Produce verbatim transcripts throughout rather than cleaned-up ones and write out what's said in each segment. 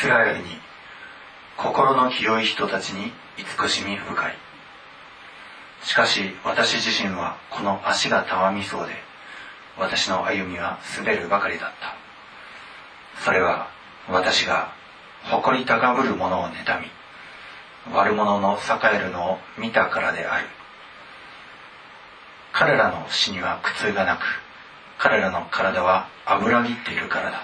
スラエルに心の清い人たちに慈しみ深い。しかし私自身はこの足がたわみそうで、私の歩みは滑るばかりだった。それは私が誇り高ぶる者を妬み、悪者の栄えるのを見たからである。彼らの死には苦痛がなく、彼らの体は脂ぎっているからだ。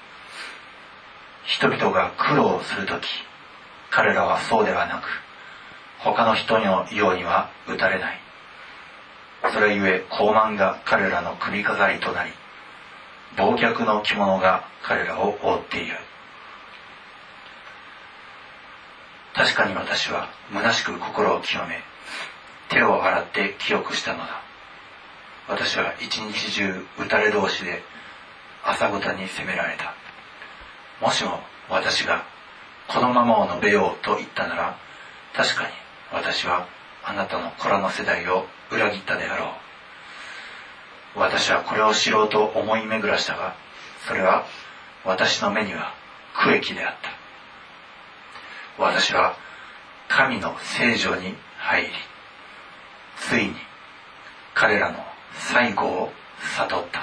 人々が苦労するとき、彼らはそうではなく、他の人のようには打たれない。それゆえ高慢が彼らの首飾りとなり、暴虐の着物が彼らを覆っている。確かに私は虚しく心を清め、手を洗って清くしたのだ。私は一日中打たれ同士で朝ごたに責められた。もしも私がこのままを述べようと言ったなら、確かに私はあなたの子らの世代を裏切ったであろう。私はこれを知ろうと思い巡らしたが、それは私の目には苦役であった。私は神の聖所に入り、ついに彼らの最後を悟った。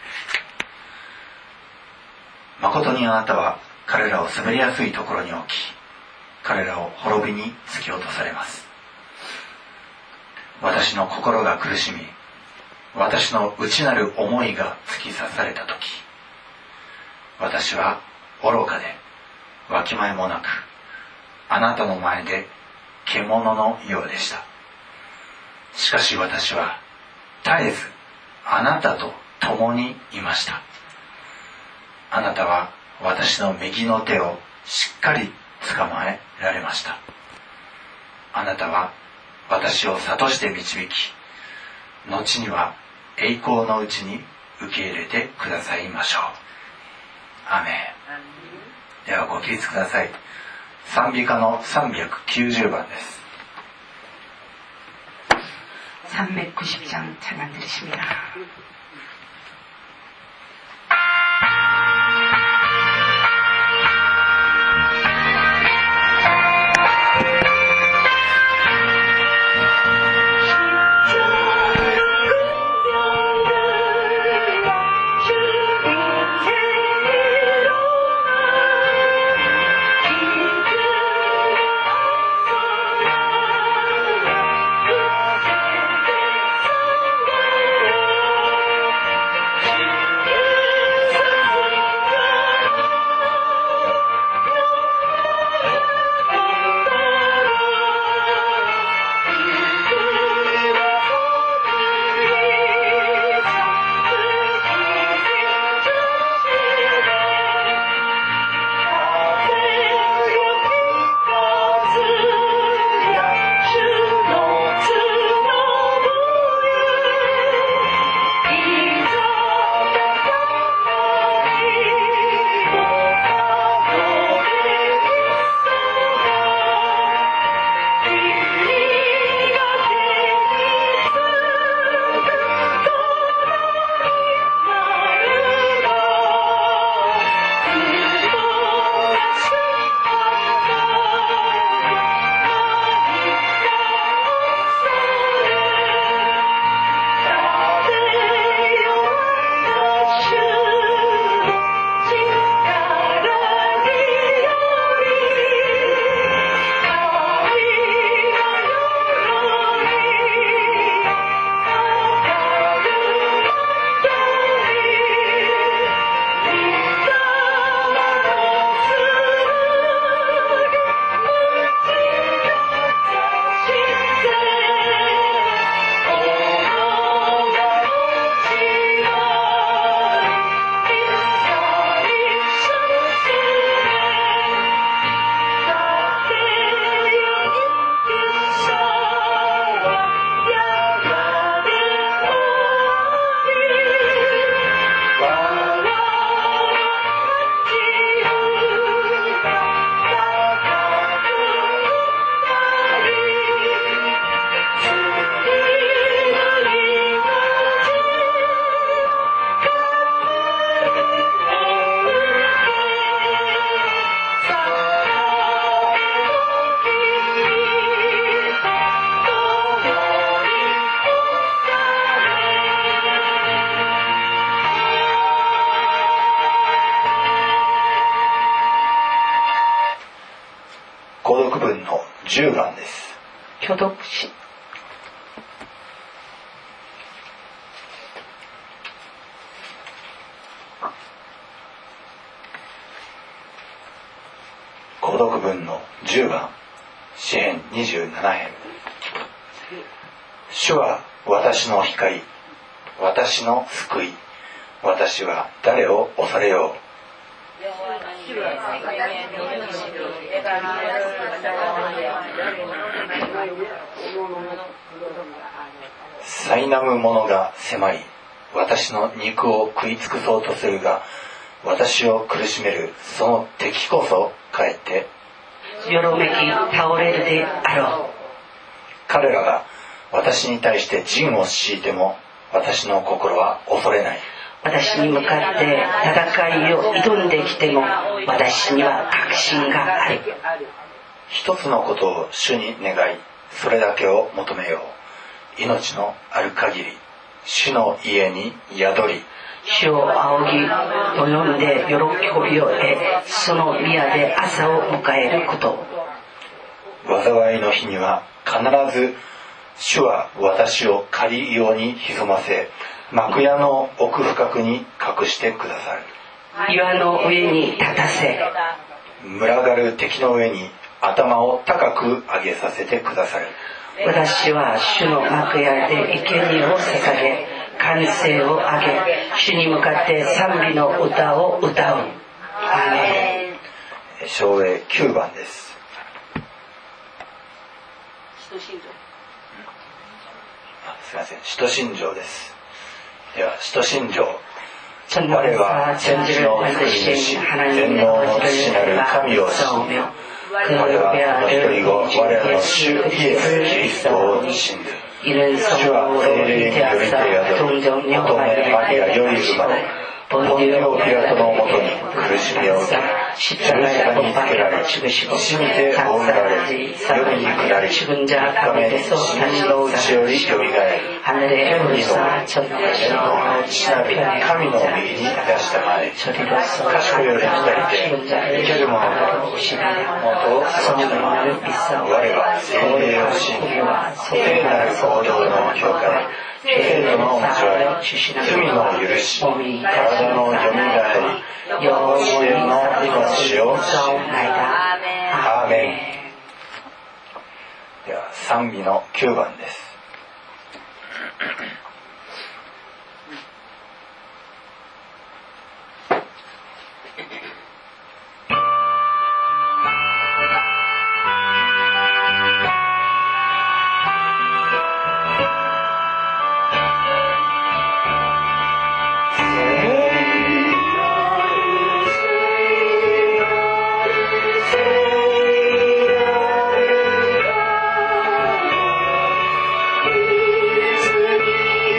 誠にあなたは彼らを滑りやすいところに置き、彼らを滅びに突き落とされます。私の心が苦しみ、私の内なる思いが突き刺されたとき、私は愚かでわきまえもなく、あなたの前で獣のようでした。しかし私は絶えずあなたと共にいました。あなたは私の右の手をしっかり捕まえられました。あなたは私を諭して導き、後には栄光のうちに受け入れてくださいましょう。アーメン。ではご起立ください。賛美歌のさんびゃくきゅうじゅうばんです。 삼백구십 장 찬양 드리십니다. 주 挙読し購読文のじゅうばん、詩編にじゅうなな編。主は私の光、私の救い、私は誰を恐れよう。苛む者が迫り、私の肉を食い尽くそうとするが、私を苦しめるその敵こそかえってよろめき倒れるであろう。 彼らが私に対して陣を敷いても、私の心は恐れない。 私に向かって戦いを挑んできても、私には確信がある。 一つのことを主に願い、それだけを求めよう。命のある限り、主の家に宿り、 主を仰ぎと呼んで喜びを得、その宮で朝を迎えること。 災いの日には必ず主は私を仮用に潜ませ、幕屋の奥深くに隠してくださる。 岩の上に立たせ、 群がる敵の上に頭を高く上げさせてくださる。 私は主の幕屋で生贄を捧げ、歓声を上げ、主に向かって賛美の歌を歌う。アーメン。唱詠きゅうばんです。すみません、使徒信条です。では、使徒信条。我は天地の作り主、全能の父なる神を信じ、我はその一人子、我らの主イエス・キリストを信ず。主は聖霊によりて宿り、乙女マリアより生まれ、ポンティオ・ピラトのもとに苦しみを受け、十字架につけられ、死にて葬られ、夜に下り、三日目に死人のうちよりよみがえり、天に昇り、天の父なる神の右に出したまえ、賢より来たりて、生ける者と元を育ちたまえ、我は聖霊を信じ、聖なる行動の教会、聖徒の交わり、罪の許し、体のよみがえり、永遠の命を信じ。アーメン。では賛美のきゅうばんです。 「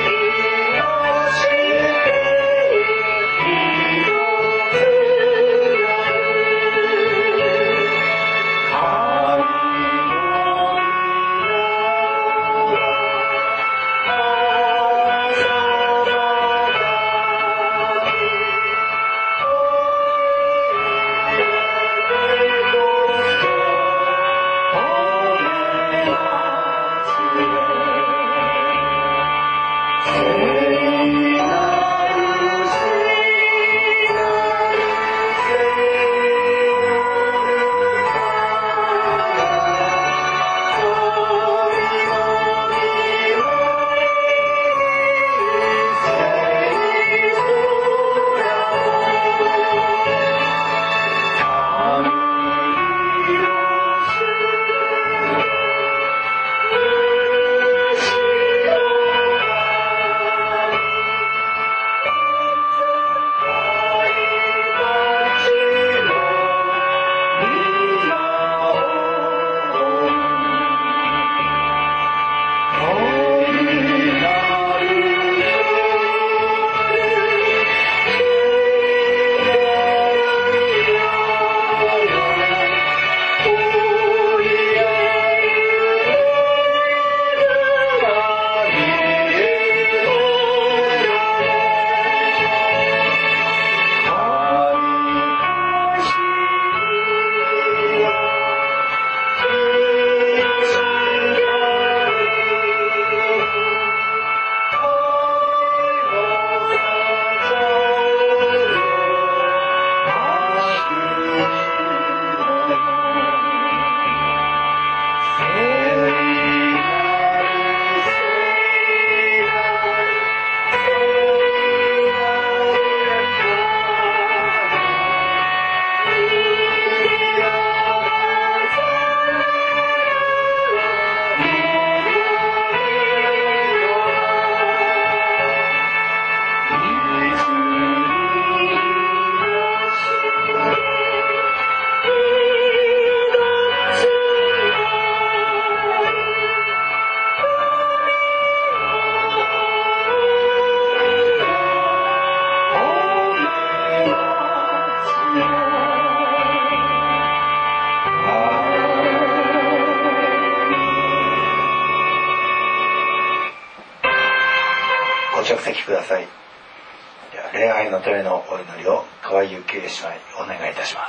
着席ください。では礼拝のためのお祈りを川井幸恵姉妹お願いいたします。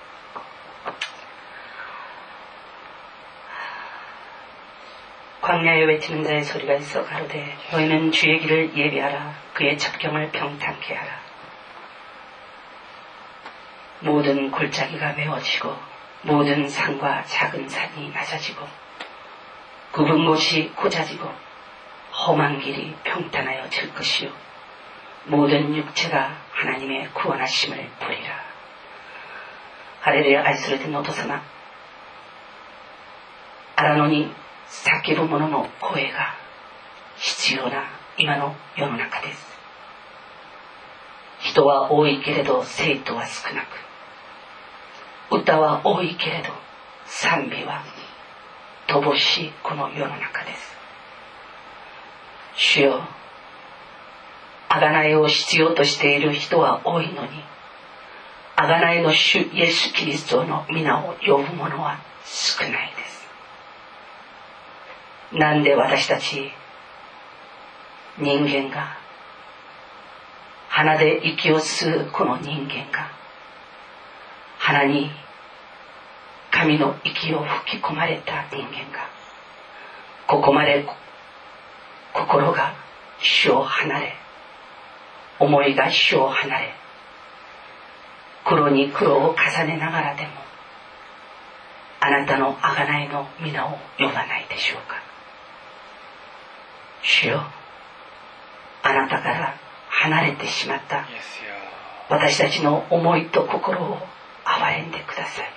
광야에 외치는 자의 소리가 있어 가로되 너희는 주의 길을 예비하라. 그의 첩경을 평탄케 하라. 모든 골짜기가 메워지고 모든 산과 작은 산이 낮아지고 굽은 곳이 고자지고 험한 길이 평탄하여 질 것이요 모든 육체가 하나님의 구원하심을 보리라. 할렐루야. 愛する天のお父様、荒野に叫ぶ者の声が必要な今の世の中です。人は多いけれど生徒は少なく、歌は多いけれど賛美は乏しいこの世の中です。主よ、贖いを必要としている人は多いのに、贖いの主イエス・キリストの皆を呼ぶ者は少ないです。なんで私たち人間が、鼻で息を吸うこの人間が、鼻に神の息を吹き込まれた人間が、ここまで心が主を離れ、思いが主を離れ、苦労に苦労を重ねながらでも、あなたの贖いの皆を呼ばないでしょうか。主よ、あなたから離れてしまった私たちの思いと心を憐れんでください。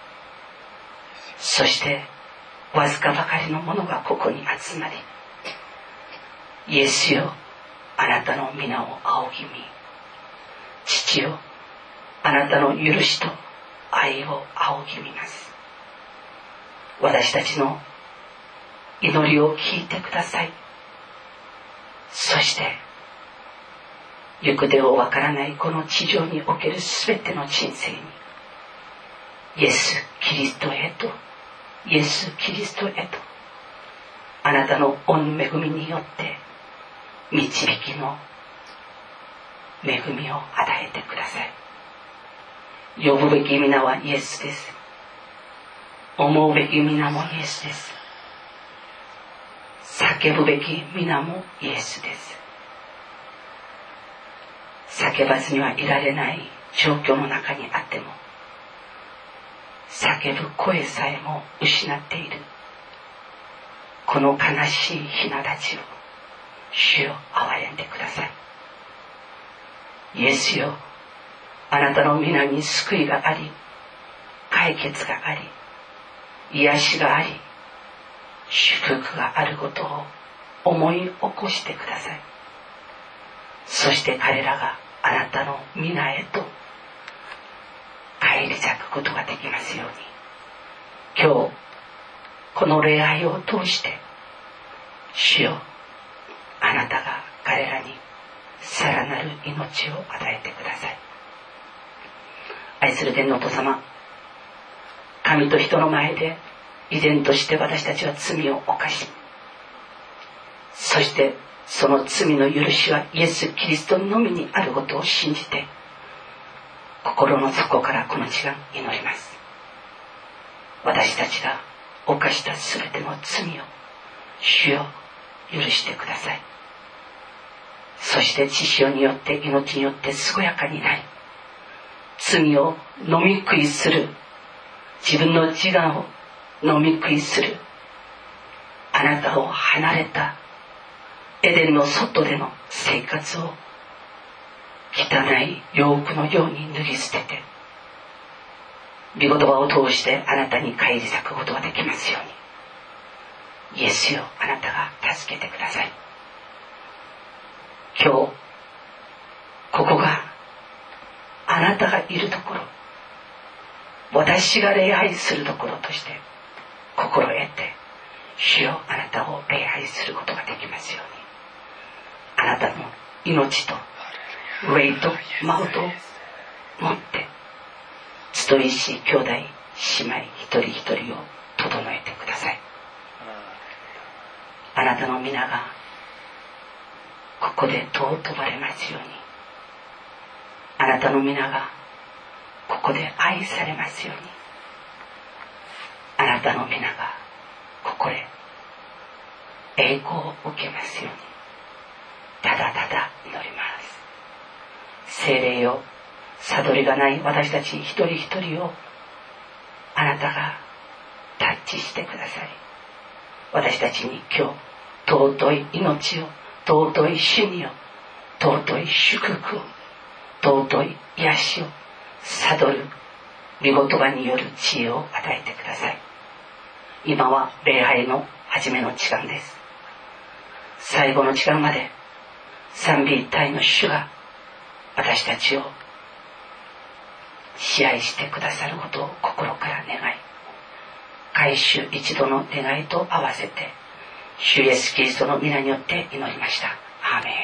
そしてわずかばかりのものがここに集まり、イエスよ、あなたの皆を仰ぎ見、父よ、あなたの許しと愛を仰ぎ見ます。私たちの祈りを聞いてください。そして行く手をわからないこの地上におけるすべての人生に、イエス・キリストへと、イエス・キリストへと、あなたの御恵みによって導きの恵みを与えてください。呼ぶべき皆はイエスです。思うべき皆もイエスです。叫ぶべき皆もイエスです。叫ばずにはいられない状況の中にあっても、叫ぶ声さえも失っているこの悲しいひなたちを主よ、憐れんでください。イエスよ、あなたの皆に救いがあり、解決があり、癒しがあり、祝福があることを思い起こしてください。そして彼らがあなたの皆へと返り咲くことができますように、今日この礼拝を通して主よ、あなたが彼らにさらなる命を与えてください。愛する天のお父様、神と人の前で依然として私たちは罪を犯し、そしてその罪の許しはイエス・キリストのみにあることを信じて、心の底からこの時間祈ります。私たちが犯したすべての罪を主よ、許してください。そして血潮によって命によって健やかになり、罪を飲み食いする、自分の自我を飲み食いする、あなたを離れたエデンの外での生活を汚い洋服のように脱ぎ捨てて、御言葉を通してあなたに返り咲くことができますように、イエスよ、あなたが助けてください。今日ここがあなたがいるところ、私が礼拝するところとして心得て、主よ、あなたを礼拝することができますように、あなたの命と霊とマウトを持って集いし兄弟姉妹一人一人を整えてください。あなたの皆がここで尊ばれますように、あなたの皆がここで愛されますように、あなたの皆がここで栄光を受けますように、ただただ祈ります。聖霊よ、悟りがない私たち一人一人をあなたがタッチしてくださり、私たちに今日尊い命を、尊い死にを、尊い祝福を、尊い癒しを悟る御言葉による知恵を与えてください。今は礼拝の初めの時間です。最後の時間まで賛美一体の主が私たちを支配してくださることを心から願い、改宗一度の願いと合わせて主イエスキリストの皆によって祈りました。アーメン。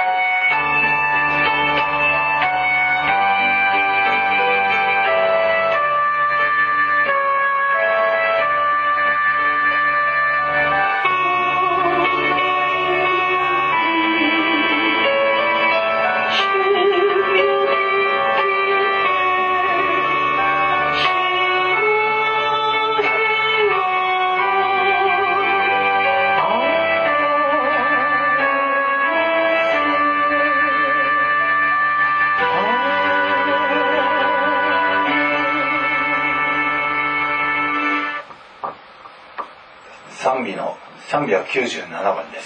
賛美のさんびゃくきゅうじゅうななばんです。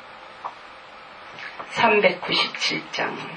さんびゃくきゅうじゅうななちゃん。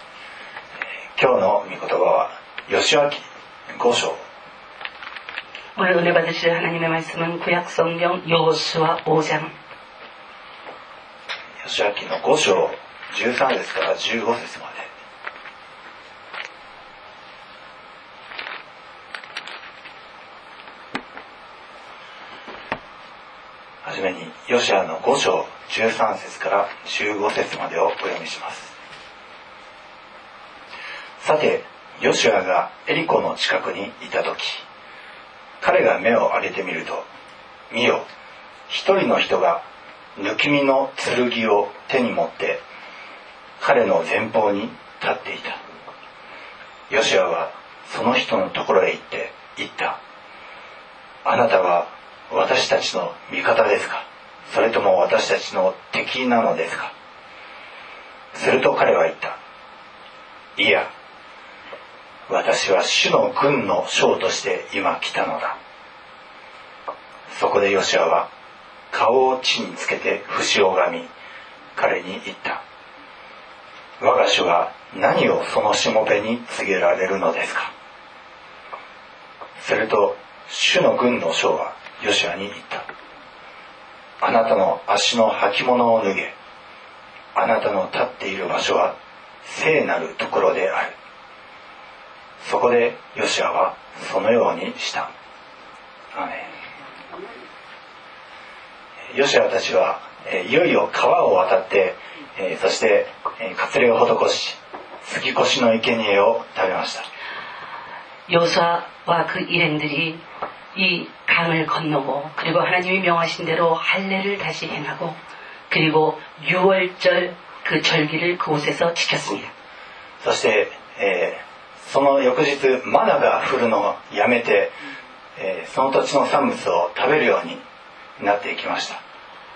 吉脇ご章 오늘 은혜 받으실 하나님의 말씀은 구약성경 여호수아 오 장 吉明のご章じゅうさん節からじゅうご節まで。はじめにヨシアのご章じゅうさん節からじゅうご節までをお読みします。さてヨシアがエリコの近くにいた時、彼が目を上げてみると、見よ、一人の人が抜き身の剣を手に持って彼の前方に立っていた。ヨシアはその人のところへ行って言った。あなたは私たちの味方ですか、それとも私たちの敵なのですか。すると彼は言った。いや、私は主の軍の将として今来たのだ。そこでヨシアは顔を地につけて節を拝み、彼に言った。我が主は何をそのしもべに告げられるのですか。すると主の軍の将はヨシアに言った。あなたの足の履物を脱げ。あなたの立っている場所は聖なるところである。そこでヨシアはそのようにした。アーメン。ヨシアたちはいよいよ川を渡って、そして割礼を施し、杉越の生贄を食べました。 여호수아와 그 일행들이 이 강을 건너고 그리고 하나님이 명하신 대로 할례를 다시 행하고 그리고 유월절 그 절기를 그곳에서 지켰습니다. そして、えーその翌日マナが降るのをやめて、えー、その土地の産物を食べるようになっていきました。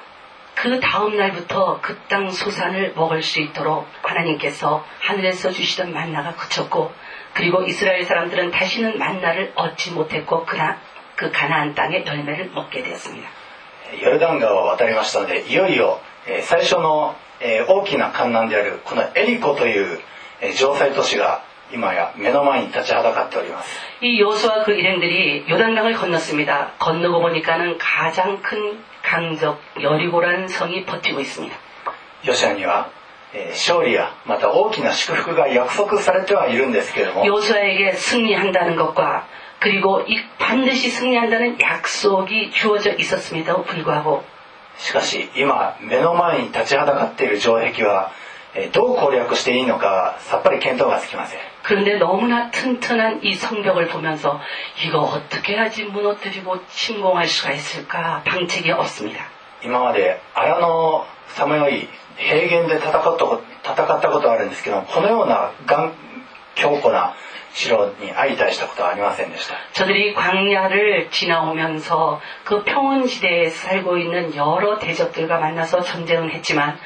그 다음 날부터 그 땅 소산을 먹을 수 있도록 하나님께서 하늘에서 주시던 만나가 그쳤고 그리고 이스라엘 사람들은 다시는 만나를 얻지 못했고 그나, 그 가나안 땅의 열매를 먹게 되었습니다. ヨルダン川を渡りましたので、いよいよ、えー、最初の、えー、大きな干難であるこのエリコという、えー、城塞都市が今や目の前に立ちはだかっております。 이 여호수아 그 일행들이 요단강을 건넜습니다. 건너고 보니까는 가장 큰 강적 여리고라는 성이 버티고 있습니다. ヨシアには、えー、勝利やまた大きな祝福が約束されてはいるんですけれども、 여호수아에게 승리한다는 것과 그리고 이 반드시 승리한다는 약속이 주어져 있었음에도 불구하고 しかし今目の前に立ちはだかっている城壁はどう攻略していいのかさっぱり見当がつきません。 그런데 너무나 튼튼한 이 성벽을 보면서 이거 어떻게 해야지 무너뜨리고 침공할 수가 있을까 방책이 없습니다. 今まで荒野さまよい平原で戦ったこと戦ったことはあるんですけど、このような強固な城に相対したことはありませんでした。 저들이 광야를 지나오면서 그 평원지대에 살고 있는 여러 대적들과 만나서 전쟁은 했지만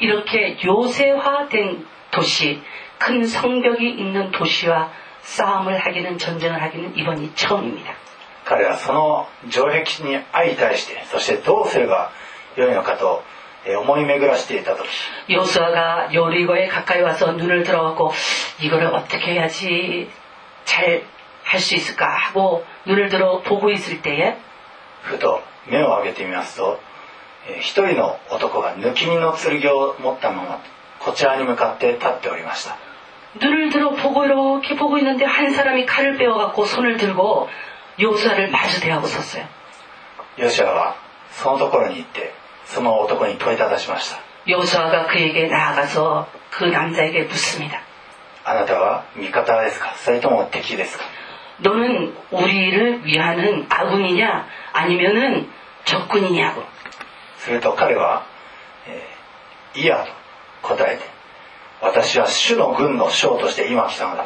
이렇게 요새화된 도시, 큰 성벽이 있는 도시와 싸움을 하기는 전쟁을 하기는 이번이 처음입니다. 彼はその城壁に相対して、そしてどうすればよいのかと思い巡らしていた時、 여호수아가 여리고에 가까이 와서 눈을 들어갖고 이거를 어떻게 해야지 잘 할 수 있을까 하고 눈을 들어 보고 있을 때에 ふと目を上げてみますと、一人の男が抜き身の剣を持ったままこちらに向かって立っておりました。 눈을 들어 보고 이렇게 보고 있는데 한 사람이 칼을 빼어갖고 손을 들고 여호수아를 마주 대하고 섰어요. ヨシアはそのところに行ってその男に問いただしました。 여호수아가 그에게 나아가서 그 남자에게 묻습니다. あなたは味方ですか、それとも敵ですか。 너는 우리를 위하는 아군이냐 아니면은 적군이냐고. すると彼は、えー、いやと答えて、私は主の軍の将として今来たのだ。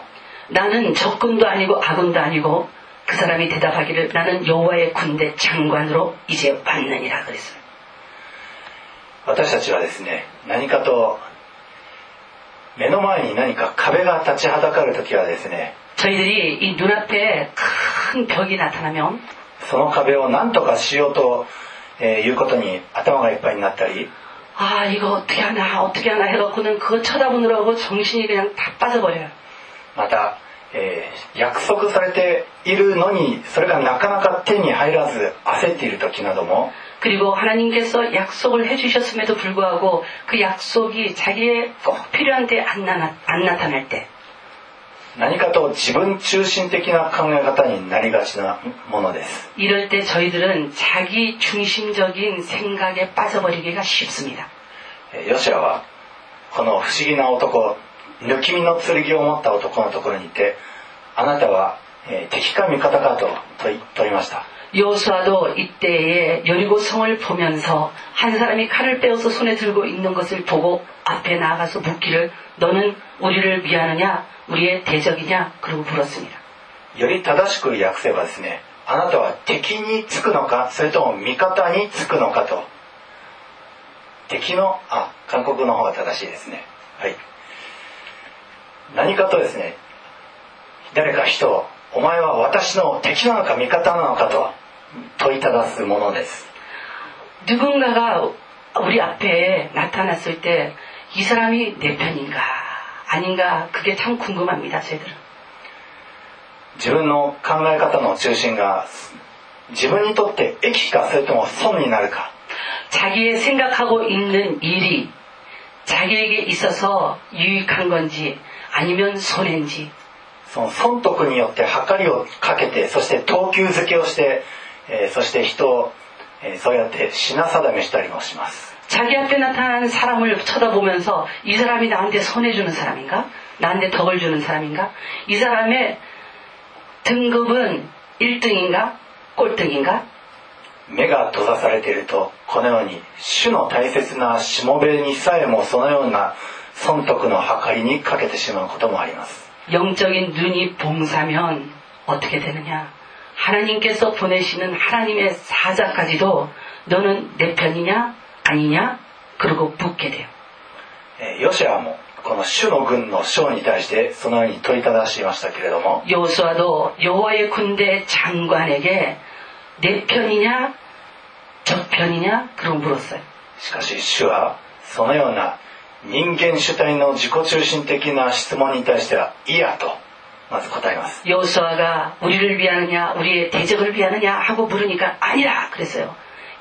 나는 적군도 아니고 아군도 아니고 그 사람이 대답하기를 나는 여호와의 군대 장관으로 이제 왔느니라 그랬어요. 私たちはですね、何かと目の前に何か壁が立ちはだかるときはですね、 저희들이 이 눈앞에 큰 벽이 나타나면 その壁を何とかしようと、えー、いうことに頭がいっぱいになったり、 아 이거 어떻게 하나 어떻게 하나 해갖고는 그거 쳐다보느라고 정신이 그냥 다 빠져버려요. また、 えー、約束されているのにそれがなかなか手に入らず焦っている時なども 그리고 하나님께서 약속을 해주셨음에도 불구하고 그 약속이 자기의 꼭 필요한데 안, 나, 안 나타날 때 何かと自分中心的な考え方になりがちなものです。 이럴 때 저희들은 자기 중심적인 생각에 빠져버리기가 쉽습니다. ヨシュアはこの不思議な男、抜き身の剣を持った男のところにいて、あなたは敵か味方かと問いました。 여호수아도 이때에 여리고 성을 보면서 한 사람이 칼을 빼어서 손에 들고 있는 것을 보고 앞에 나아가서 묻기를 너는 우리를 위하느냐 우리의 대적이냐 그러고 물었습니다. より正しく訳せばですね、あなたは敵につくのかそれとも味方につくのかと。敵のあ韓国の方が正しいですね。はい。何かとですね、誰か人をお前は私の敵なのか味方なのかと問いただすものです。 누군가가 우리 앞에 나타났을 때 이 사람이 내 편인가 아닌가 그게 참 궁금합니다. 저희들은. 自分の考え方の中心が自分にとって益かそれとも損になるか 자기의 생각하고 있는 일이 자기에게 있어서 유익한 건지 아니면 손해인지 その損得によって計りをかけてそして等級付けをして、えー、そして人を、えー、そうやって品定めしたりもします 자기 앞에 나타난 사람을 쳐다보면서 이 사람이 나한테 손해주는 사람인가? 나한테 덕을 주는 사람인가? 이 사람의 등급은 일 등인가? 꼴등인가? 目が閉ざされているとこのように主の大切なしもべにさえもそのような損得の計りにかけてしまうこともあります 영적인 눈이 봉사면 어떻게 되느냐? 하나님께서 보내시는 하나님의 사자까지도 너는 내 편이냐 아니냐? 그러고 묻게 돼요. ヨシュアもこの主の軍の将に対してそのように問いただしましたけれども 여호수아도 여호와의 군대 장관에게 내 편이냐 저 편이냐 그러고 물었어요. しかし主はそのような人間主体の自己中心的な質問に対してはいやとまず答えます 여호수아가 우리를 위하느냐 우리의 대적을 위하느냐 하고 물으니까 아니라 그랬어요.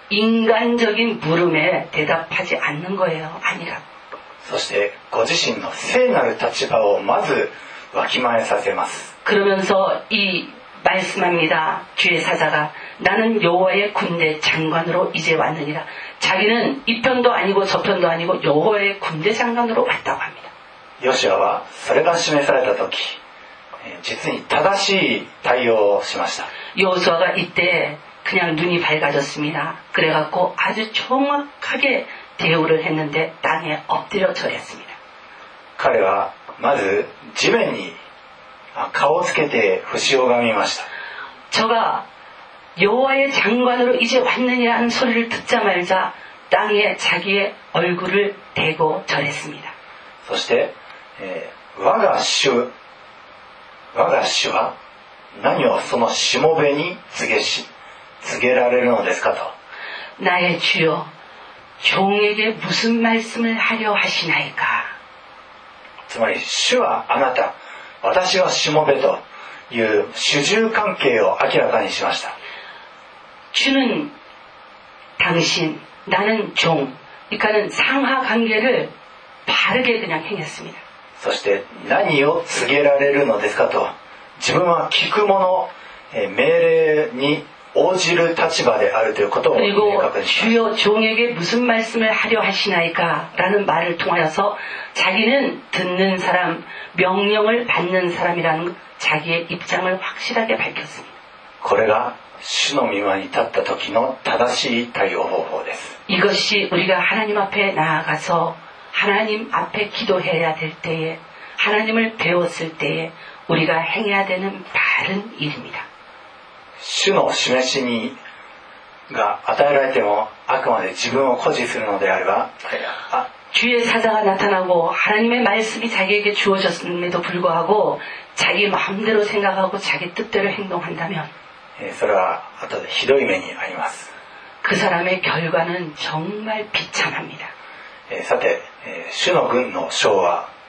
인간적인 물음에 대답하지 않는 거예요. 아니라 そしてご自身の聖なる立場をまずわきまえさせます 그러면서 이 말씀합니다. 주의 사자가 나는 여호와의 군대 장관으로 이제 왔느니라. 자기는 이 편도 아니고 저 편도 아니고 여호와의 군대 장관으로 왔다고 합니다. ヨシュアはそれが示された時実に正しい対応をしました 여호수아가 이때 그냥 눈이 밝아졌습니다. 그래갖고 아주 정확하게 대우를 했는데 땅에 엎드려 절했습니다. 彼はまず地面に顔をつけて伏を拝みました 저가 여호와의 장관으로 이제 왔느냐는 소리를 듣자마자 땅에 자기의 얼굴을 대고 절했습니다. そして、えー、我が主我が主は何をそのしもべに告げし告げられるのですかと 나의 주여 종에게 무슨 말씀을 하려 하시나이까 つまり主はあなた私はしもべという主従関係を明らかにしました 주는 당신 나는 종 그러니까는 상하 관계를 바르게 그냥 행했습니다. そして何を告げられるのですかと自分は聞くもの命令に応じる立場であるということを明確にします 주여 종에게 무슨 말씀을 하려 하시나이까 라는 말을 통하여서 자기는 듣는 사람 명령을 받는 사람이라는 자기의 입장을 확실하게 밝혔습니다. これが主の御前に立った時の正しい対応方法です 이것이 우리가 하나님 앞에 나아가서 하나님 앞에 기도해야 될 때에 하나님을 배웠을 때에 우리가 행해야 되는 바른 일입니다. 主の示しにが与えられてもあくまで自分を誇示するのであれば 주의 사자가 나타나고 하나님의 말씀이 자기에게 주어졌음에도 불구하고 자기 마음대로 생각하고 자기 뜻대로 행동한다면 それは後でひどい目に遭います 그 사람의 결과는 정말 비참합니다. さて主の軍の将は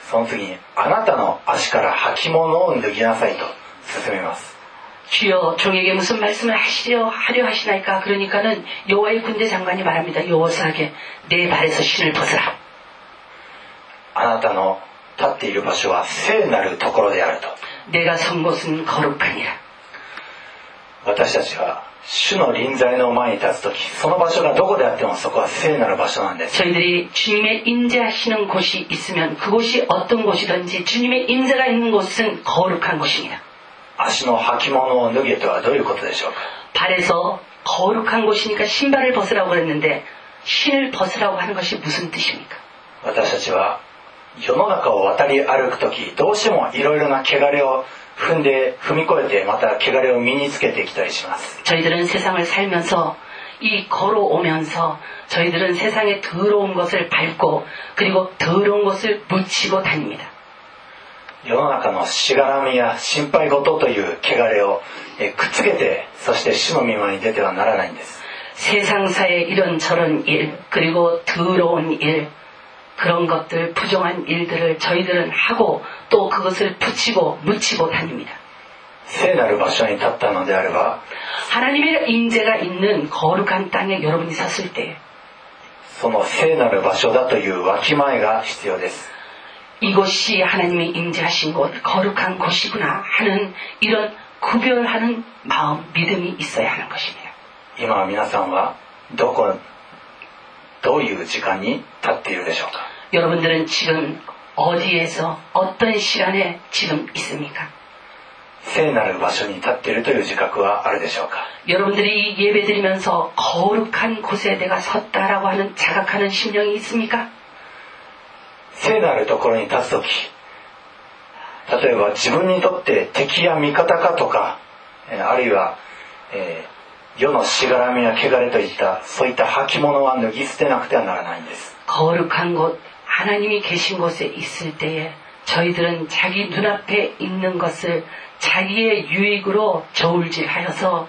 その次にあなたの足から履物を脱ぎなさいと進めます。 주여 종에게 무슨 말씀을 하시려 하려 하시나이까. 그러니까는 여호와의 군대 장관이 말합니다. 여호사에게 내 발에서 신을 벗으라. あなたの立っている場所は聖なるところであると。 내가 선 곳은 거룩하니라. 私たちは主の臨在の前に立つとき、その場所がどこであってもそこは聖なる場所なんです。 저희들이 주님의 임재하시는 곳이 있으면 그곳이 어떤 곳이든지 주님의 임재가 있는 곳은 거룩한 곳입니다. 足の履物を脱げとはどういうことでしょうか。 발에서 거룩한 곳이니까 신발을 벗으라고 그랬는데 신을 벗으라고 하는 것이 무슨 뜻입니까? 私たちは世の中を渡り歩くとき、どうしてもいろいろな汚れを踏んで踏み越えて、また汚れを身につけてきたりします。 저희들은 세상을 살면서 이 걸어오면서 저희들은 세상에 더러운 것을 밟고 그리고 더러운 것을 묻히고 다닙니다. 世の中のしがらみや心配事という汚れをくっつけて、そして主の御前に出てはならないんです。 세상사의 이런저런 일 그리고 더러운 일 그런 것들 부정한 일들을 저희들은 하고 또 그것을 붙이고 묻히고 다닙니다. 聖なる場所に立ったのであれば 하나님의 임재가 있는 거룩한 땅에 여러분이 섰을 때 その聖なる場所だというわきまえが必要です。 이곳이 하나님의 임재하신 곳 거룩한 곳이구나 하는 이런 구별하는 마음 믿음이 있어야 하는 것입니다. 今皆さんはどこどういう時間に立っているでしょうか。 여러분들은 지금 어디에서 어떤 시간에 지금 있습니까? 聖なる場所に立っているという自覚はあるでしょうか。 여러분들이 예배드리면서 거룩한 곳에 내가 섰다라고 하는 자각하는 심령이 있습니까? 聖なるところに立つとき、例えば自分にとって敵や味方かとか、あるいは、えー、世のしがらみや汚れといったそういった履物は脱ぎ捨てなくてはならないんです。 거룩한 곳 하나님이 계신 곳에 있을 때에 저희들은 자기 눈앞에 있는 것을 자기의 유익으로 저울질하여서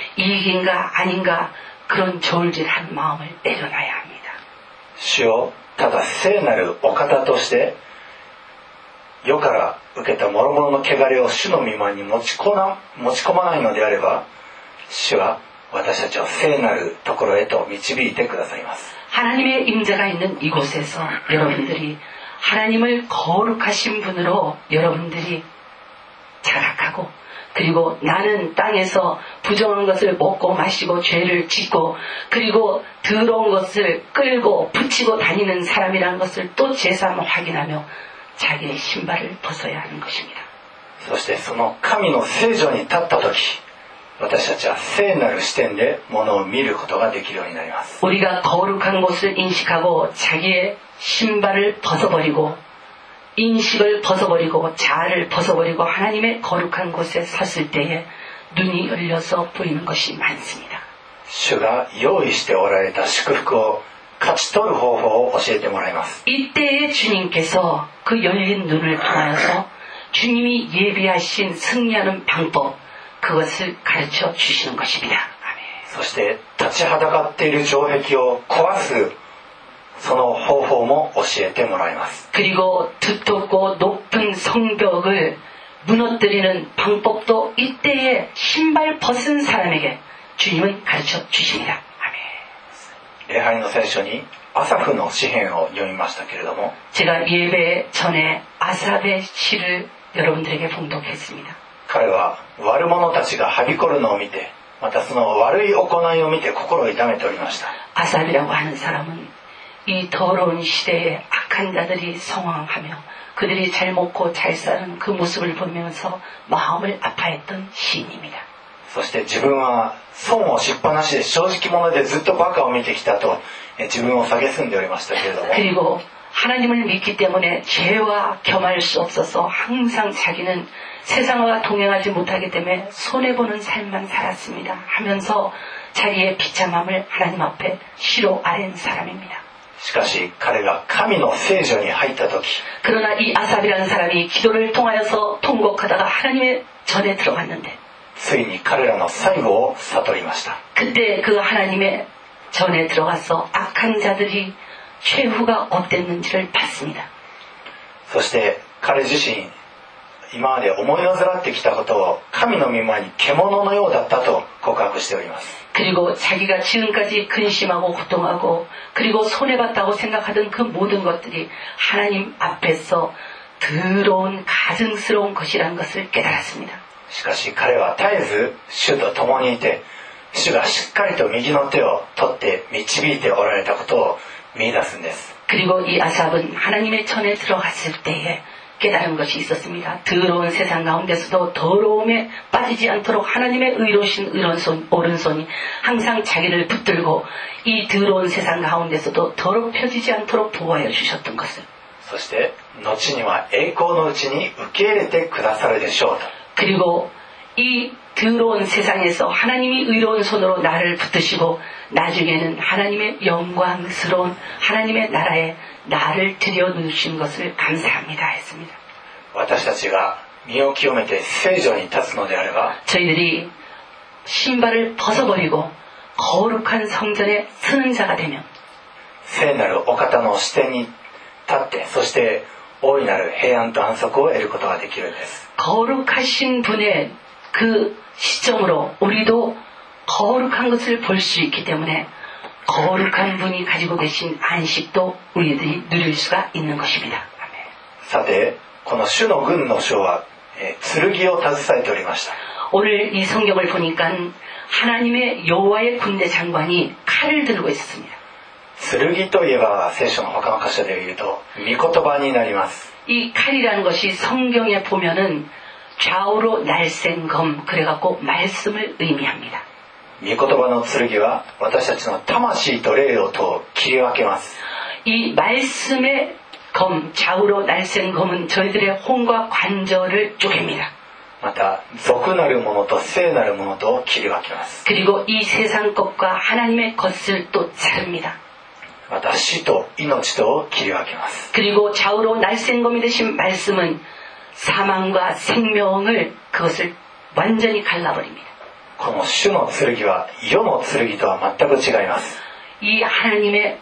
이익인가 아닌가 그런 저울질한 마음을 내려놔야 합니다. 主をただ聖なるお方として世から受けた諸々の汚れを主の御前に持ち込ま、持ち込まないのであれば、主は私たちを聖なるところへと導いてくださいます。 하나님의 임재가 있는 이곳에서 여러분들이 하나님을 거룩하신 분으로 여러분들이 자각하고 그리고 나는 땅에서 부정한 것을 먹고 마시고 죄를 짓고 그리고 더러운 것을 끌고 붙이고 다니는 사람이라는 것을 또 제삼 확인하며 자기의 신발을 벗어야 하는 것입니다. そしてその神の聖所に立った時、私たちは聖なる視点で物を見ることができるようになります。 우리가 거룩한 것을 인식하고 자기의 신발을 벗어버리고 인식을 벗어버리고 자아를 벗어버리고 하나님의 거룩한 곳에 섰을 때에 눈이 열려서 보이는 것이 많습니다. 主が用意しておられた祝福を勝ち取る方法を教えてもらいます。 이때에 주님께서 그 열린 눈을 통하여서 주님이 예비하신 승리하는 방법 그것을 가르쳐 주시는 것입니다. 아멘. そして立ちはだかっている城壁を壊すその方法も教えてもらいます。 그리고 두텁고 높은 성벽을 무너뜨리는 방법도 이때에 신발 벗은 사람에게 주님은 가르쳐 주십니다. 아멘. 礼拝の聖書にアサフの詩篇を読みましたけれども 제가 예배 전에 아삽의 시를 여러분들에게 봉독했습니다. 彼は悪者たちがはびこるのを見て、またその悪い行いを見て心を痛めておりました。 아삽이라고 하는 사람은 이 더러운 시대에 악한 자들이 성황하며 그들이 잘 먹고 잘 사는 그 모습을 보면서 마음을 아파했던 시인입니다. そして自分は損をしっぱなしで正直者でずっとバカを見てきたと自分を蔑んでおりましたけれども 그리고 하나님을 믿기 때문에 죄와 겸할 수 없어서 항상 자기는 세상과 동행하지 못하기 때문에 손해보는 삶만 살았습니다 하면서 자기의 비참함을 하나님 앞에 시로 아랜 사람입니다. しかし彼が神の聖所に入った時 그러나 이 아삽이라는 사람이 기도를 통하여서 통곡하다가 하나님의 전에 들어갔는데 ついに彼らの最後を悟りました。 그때 그 하나님의 전에 들어가서 악한 자들이 최후가 어땠는지를 봤습니다. そして彼自身今まで思い煩ってきたことを神の御前に獣のようだったと告白しております。 그리고 자기가 지금까지 근심하고 고통하고 그리고 손해봤다고 생각하던 그 모든 것들이 하나님 앞에서 더러운 가증스러운 것이라는 것을 깨달았습니다. しかし彼は絶えず主と共にいて主がしっかりと右の手を取って導いておられたことを見出すんです。 그리고 이 아삽은 하나님의 전에 들어갔을 때에 깨달은 것이 있었습니다. 더러운 세상 가운데서도 더러움에 빠지지 않도록 하나님의 의로우신 오른손, 오른손이 항상 자기를 붙들고 이 더러운 세상 가운데서도 더럽혀지지 않도록 보호하여 주셨던 것을. そして後には栄光のうちに受け入れてくださるでしょうと。 그리고 이 더러운 세상에서 하나님이 의로운 손으로 나를 붙드시고 나중에는 하나님의 영광스러운 하나님의 나라에 나를 들여놓으신 것을 감사합니다 했습니다. 私たちが身を清めて聖所に立つのであれば 저희들이 신발을 벗어버리고 거룩한 성전에 서는 자가 되면 聖なるお方の視点に立ってそして大いなる平安と安息を得ることができるんです。 거룩하신 분의 그 시점으로 우리도 거룩한 것을 볼 수 있기 때문에 거룩한 분이 가지고 계신 안식도 우리들이 누릴 수가 있는 것입니다. さてこの主の軍の将は、えー、剣を携えておりました。 오늘 이 성경을 보니까 하나님의 여호와의 군대 장관이 칼을 들고 있었습니다. 剣といえば聖書の他の箇所で言うと御言葉になります。 이 칼이라는 것이 성경에 보면은 좌우로 날쌘 검 그래갖고 말씀을 의미합니다. 御言葉の剣は私たちの魂と霊をと切り分けます。 이 말씀의 검 좌우로 날쌘 검은 저희들의 혼과 관절을 쪼갭니다. また俗なるものと聖なるものと切り分けます。 그리고 이 세상 것과 하나님의 것을 또 자릅니다. また死と命と切り分けます。 그리고 좌우로 날쌘 검이 되신 말씀은 사망과 생명을 그것을 완전히 갈라버립니다. この主の剣は世の剣とは全く違います。 이 하나님의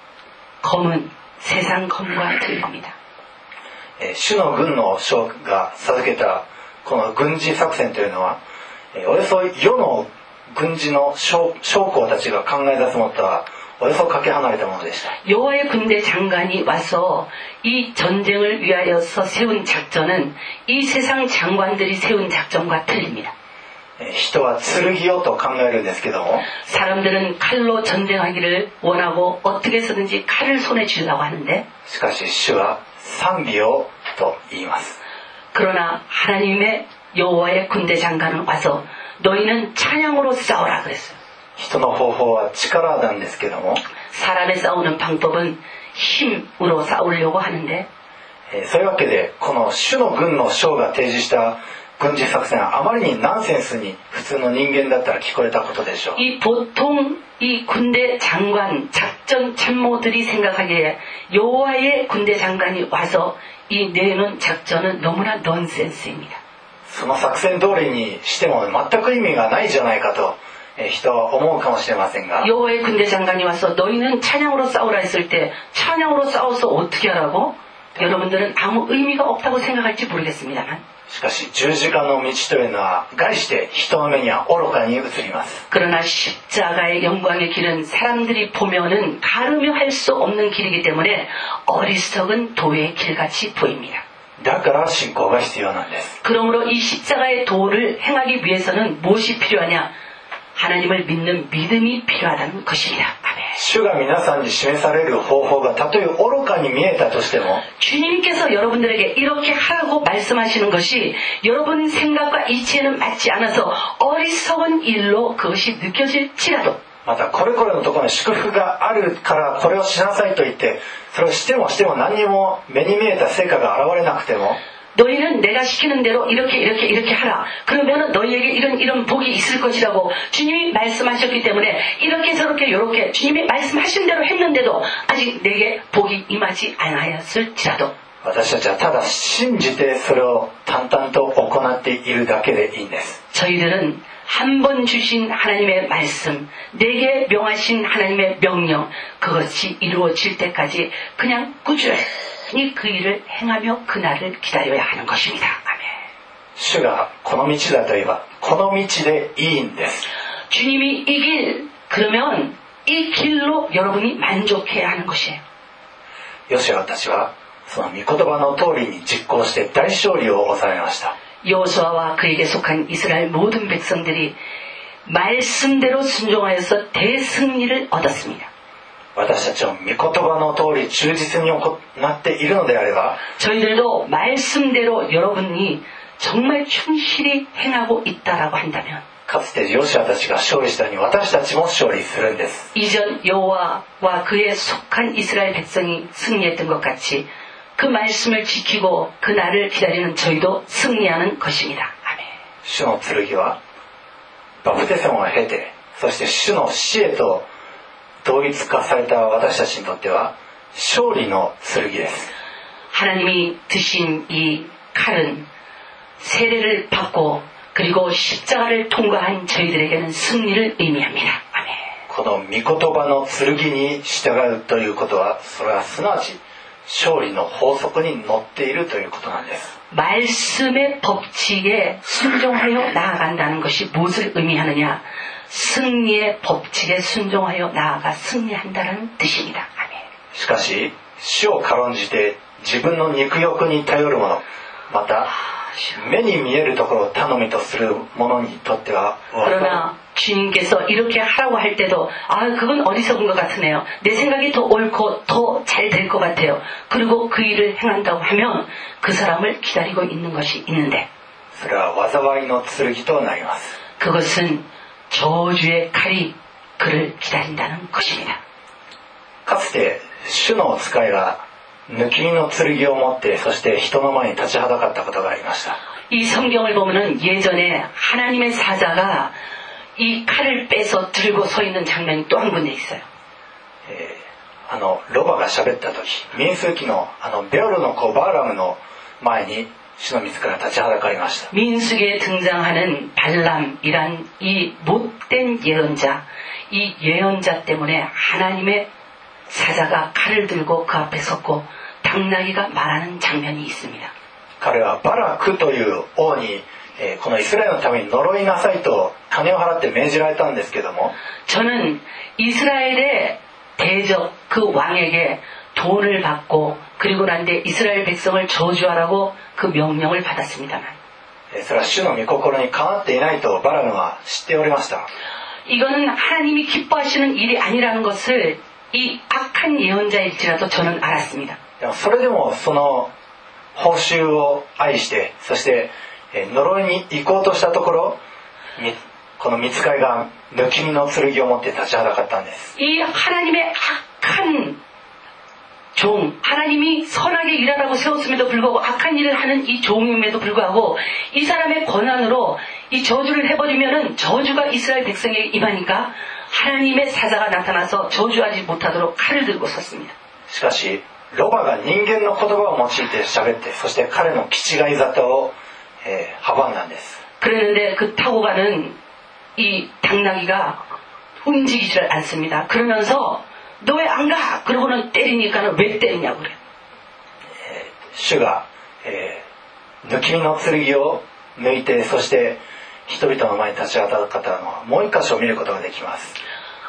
검은 세상 검과 틀립니다. 主の軍の将が授けたこの軍事作戦というのはおよそ世の軍事の将校たちが考え出すものとはおよそかけ離れたものでした。 여호와의 군대 장관이 와서 이 전쟁을 위하여서 세운 작전은 이 세상 장관들이 세운 작전과 틀립니다. 人は剣をと考えるんですけども 사람들은 칼로 전쟁하기를 원하고 어떻게 해서든지 칼을 손에 쥐려고 하는데 しかし主は賛美をと言います。 그러나 하나님의 여호와의 군대 장관은 와서 너희는 찬양으로 싸우라 그랬어요. 人の方法は力なんですけども 사람의 싸우는 방법은 힘으로 싸우려고 하는데 そういうわけでこの主の軍の将が提示した軍事作戦はあまりにナンセンスに普通の人間だったら聞こえたことでしょう。 이 보통 이 군대 장관 작전 참모들이 생각하기에 여호와의 군대 장관이 와서 이 내놓은 작전은 너무나 넌센스입니다. その作戦通りにしても全く意味がないじゃないかと人は思うかもしれませんが 여호와의 군대 장관이 와서 너희는 찬양으로 싸우라 했을 때 찬양으로 싸워서 어떻게 하라고? 여러분들은 아무 의미가 없다고 생각할지 모르겠습니다만 しかし十字架の道というのは概して人の目には愚かに映ります。 그러나 십자가의 영광의 길은 사람들이 보면은 가르며 할 수 없는 길이기 때문에 어리석은 도의 길같이 보입니다. だから信仰が必要なんです。 그러므로 이 십자가의 도를 행하기 위해서는 무엇이 필요하냐? 하나님을 믿는 믿음이 필요하다는 것입니다. 아멘. 主が皆さんに示される方法がたとえ愚かに見えたとしても 주님께서 여러분들에게 이렇게 하라고 말씀하시는 것이 여러분 생각과 이치에는 맞지 않아서 어리석은 일로 그것이 느껴질지라도 またこれこれのところに祝福があるからこれをしなさいと言ってそれをしてもしても何にも目に見えた成果が現れなくても 너희는 내가 시키는 대로 이렇게 이렇게 이렇게 하라. 그러면 너희에게 이런 이런 복이 있을 것이라고 주님이 말씀하셨기 때문에 이렇게 저렇게 이렇게 주님이 말씀하신 대로 했는데도 아직 내게 복이 임하지 않았을지라도 私たちはただ信じてそれを淡々と行っているだけでいいんです。 저희들은 한 번 주신 하나님의 말씀, 내게 명하신 하나님의 명령, 그것이 이루어질 때까지 그냥 꾸준히 온전히 그 일을 행하며 그날을 기다려야 하는 것입니다. 아멘. 主がこの道だと言えばこの道でいいんです。 주님이 이 길, 그러면 이 길로 여러분이 만족해야 하는 것이에요. ヨシュアたちはその御言葉の通りに実行して大勝利を収めました。 여호수아와 그에게 속한 이스라엘 모든 백성들이 말씀대로 순종하여서 대승리를 얻었습니다. 私たちも御言葉の通り忠実に行っているのであれば 저희들도 말씀대로 여러분이 정말 충실히 행하고 있다라고 한다면 かつてヨシュアたちが勝利したように私たちも勝利するんです。 이전 여호와와 그에 속한 이스라엘 백성이 승리했던 것 같이 그 말씀을 지키고 그 날을 기다리는 저희도 승리하는 것입니다. 아멘. 主の剣はバプテスマを経てそして主の死へと同一化された私たちにとっては勝利の剣です。 하나님이 드신 이 칼은 세례를 받고 그리고 십자가를 통과한 저희들에게는 승리를 의미합니다. 아멘. この御言葉の剣に従うということはそれはすなわち勝利の法則にのっているということなんです。 말씀의 법칙에 순종하여 나아간다는 것이 무엇을 의미하느냐? 승리의 법칙에 순종하여 나아가 승리한다는 뜻입니다. 아멘. しかし主を軽んじて自分の肉欲に頼る者また目に見えるところを頼みとする者にとっては 그러나 주님께서 이렇게 하라고 할 때도 아 그건 어리석은 것 같으네요. 내 생각이 더 옳고 더 잘 될 것 같아요. 그리고 그 일을 행한다고 하면 그 사람을 기다리고 있는 것이 있는데 それは災いの剣となります。 그것은 저주의 칼이 그를 기다린다는 것입니다. かつて主の使いが抜き身の剣を持ってそして人の前に立ちはだかったことがありました。 이 성경을 보면은 예전에 하나님의 사자가 이 칼을 빼서 들고 서 있는 장면이 또 한 군데 있어요. えー、あのロバが喋った時民数記のあのベオルの子バーラムの前に主の御使いが立ちはだかりました。 민수기에 등장하는 발람이란 이 못된 예언자, 이 예언자 때문에 하나님의 사자가 칼을 들고 그 앞에 섰고 당나귀가 말하는 장면이 있습니다. 彼はバラクという王に、えー、このイスラエルのために呪いなさいと金を払って命じられたんですけども 저는 이스라엘의 대적 그 왕에게 돈을 받고 그리고 난 뒤에 이스라엘 백성을 저주하라고 그 명령을 받았습니다만 それは主の御心にかなっていないとバラムは知っておりました。 이거는 하나님이 기뻐하시는 일이 아니라는 것을 이 악한 예언자일지라도 저는 알았습니다. でもそれでもその報酬を愛してそして呪いに行こうとしたところこの御使いが抜き身の剣を持って立ちはだかったんです。 이 하나님의 악한 종, 하나님이 선하게 일하라고 세웠음에도 불구하고 악한 일을 하는 이 종임에도 불구하고 이 사람의 권한으로 이 저주를 해버리면은 저주가 이스라엘 백성에게 임하니까 하나님의 사자가 나타나서 저주하지 못하도록 칼을 들고 섰습니다. しかしロバが人間の言葉を用いて喋ってそして彼の気違い沙汰を、えー、阻んだんです。 그랬는데 그 타고 가는 이 당나귀가 움직이지를 않습니다. 그러면서 너 왜 안 가? 그러고는 때리니까는 왜 때리냐고 그래요. 主が、えー、抜き身の剣を抜いてそして人々の前に立ちはだかったのはもう一箇所見ることができます。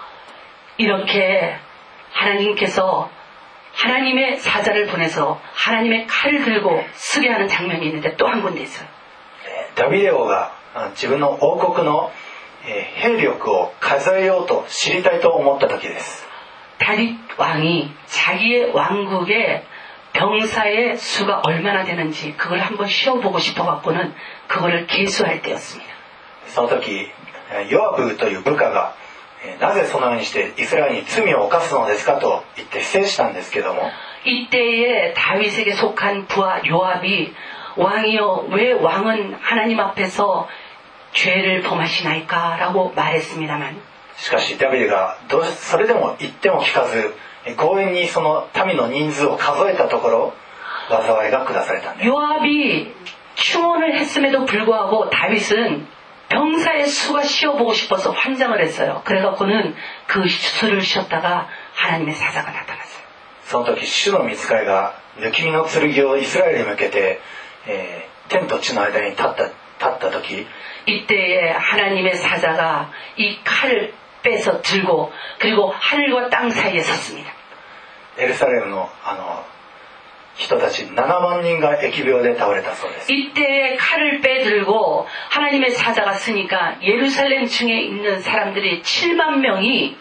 이렇게 하나님께서 하나님의 사자를 보내서 하나님의 칼을 들고 쓰게 하는 장면이 있는데 또 한 군데 있어요. ダビデ王が自分の王国の兵力を数えようと知りたいと思った時です。 다윗 왕이 자기의 왕국의 병사의 수가 얼마나 되는지 그걸 한번 쉬어보고 싶어갖고는 그거를 계수할 때였습니다. その時ヨアブという部下がなぜそのようにしてイスラエルに罪を犯すのですかと言って制したんですけども 이때에 다윗에게 속한 부하 요압이 왕이여 왜 왕은 하나님 앞에서 죄를 범하시나이까 라고 말했습니다만 しかしダビデがどうそれでも言っても聞かず強引にその民の人数を数えたところ災いが下されたんです。 요압이 충원을 했음에도 불구하고 다윗은 병사의 수가 쉬어보고 싶어서 환장을 했어요. 그래갖고는 그 수를 쉬었다가 하나님의 사자가 나타났어요. その時主の御使いが抜き身の剣をイスラエルに向けて、えー、天と地の間に立った, 立った時 이때에 하나님의 사자가 이 칼을 빼서 들고 그리고 하늘과 땅 사이에 섰습니다. エルサレムのあの人たちななまんにんが疫病で倒れたそうです。 이때에 칼을 빼들고 하나님의 사자가 쓰니까 예루살렘 층에 있는 사람들이 칠만 명이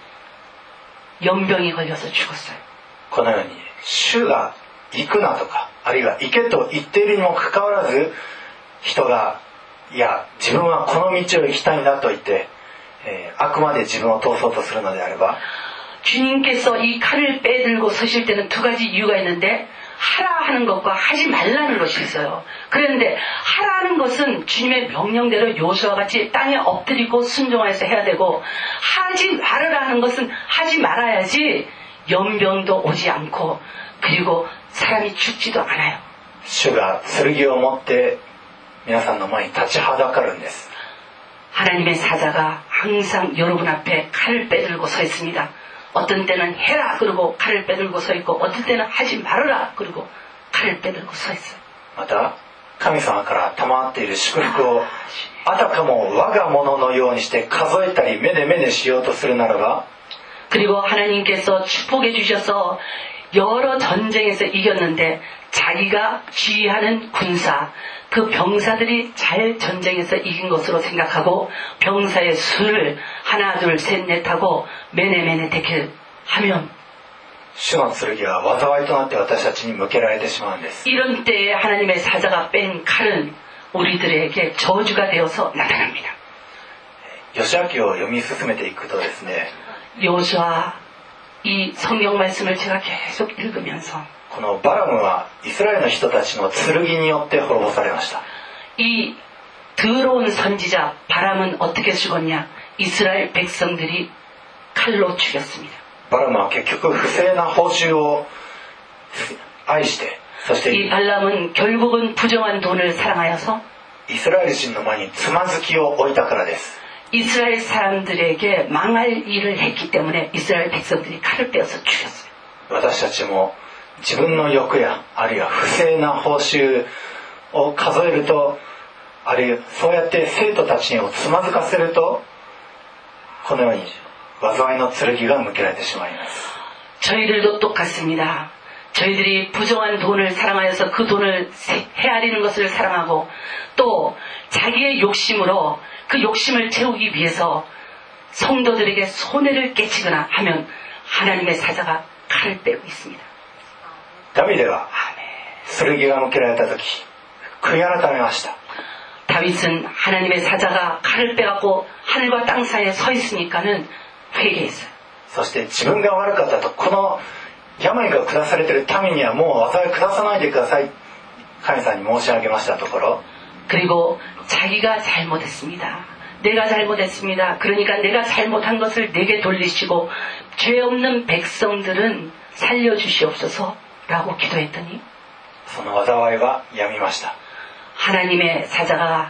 연병이 걸려서 죽었어요. このように主が行くなとかあるいは行けと言っているにもかかわらず人がいや自分はこの道を行きたいんだと言って、えー、あくまで自分を通そうとするのであれば 주님께서 이 칼을 빼들고 서실 때는 두 가지 이유가 있는데 하라 하는 것과 하지 말라는 것이 있어요. 그런데 하라는 것은 주님의 명령대로 요수와 같이 땅에 엎드리고 순종하여서 해야 되고 하지 말아라 하는 것은 하지 말아야지 연병도 오지 않고 그리고 사람이 죽지도 않아요. 主が剣を持って皆さんの前に立ちはだかるんです。 하나님의 사자가 항상 여러분 앞에 칼을 빼들고 서 있습니다. 어떤 때는 해라 그러고 칼을 빼들고 서 있고 어떤 때는 하지 말아라 그러고 칼을 빼들고 서 있어요. また神様から賜っている祝福をあたかも我がもののようにして数えたりめでめでしようとするならば 그리고 하나님께서 축복해 주셔서 여러 전쟁에서 이겼는데 자기가 지휘하는 군사 그 병사들이 잘 전쟁에서 이긴 것으로 생각하고 병사의 수를 하나 둘 셋 넷 하고 매네매네 대킬 하면 主の剣は災いとなって私たちに向けられてしまうんです。 이런 때에 하나님의 사자가 뺀 칼은 우리들에게 저주가 되어서 나타납니다. ヨシュア記を読み進めていくとですね 요수아 이 성경 말씀을 제가 계속 읽으면서 このバラムはイスラエルの人たちの剣によって滅ぼされました。 이 더러운 선지자 바람은 어떻게 죽었냐? 이스라엘 백성들이 칼로 죽였습니다. バラムは結局不正な報酬を愛してそして 이 발람은 결국은 부정한 돈을 사랑하여서 イスラエル人の前につまずきを置いたからです。 이스라엘 사람들에게 망할 일을 했기 때문에 이스라엘 백성들이 칼을 빼어서 죽였어요. 私たちも自分の欲やあるいは不正な報酬を数えるとあるいはそうやって生徒たちをつまずかせるとこのように災いの剣が向けられてしまいます。 저희들도 똑같습니다. 저희들이 부정한 돈을 사랑하여서 그 돈을 헤아리는 것을 사랑하고 또 자기의 욕심으로 그 욕심을 채우기 위해서 성도들에게 손해를 끼치거나 하면 하나님의 사자가 칼을 빼고 있습니다. ダビデは剣が向けられた時悔い改めました。 다윗은 하나님의 사자가 칼을 빼갖고 하늘과 땅 사이에 서 있으니까는 회개했어요. そして自分が悪かったとこの病が下されている民にはもう災い下さないでください神さんに申し上げましたところ 그리고 자기가 잘못했습니다. 내가 잘못했습니다. 그러니까 내가 잘못한 것을 내게 돌리시고 죄 없는 백성들은 살려주시옵소서 라고 기도했더니 その災いはやみました。 하나님의 사자가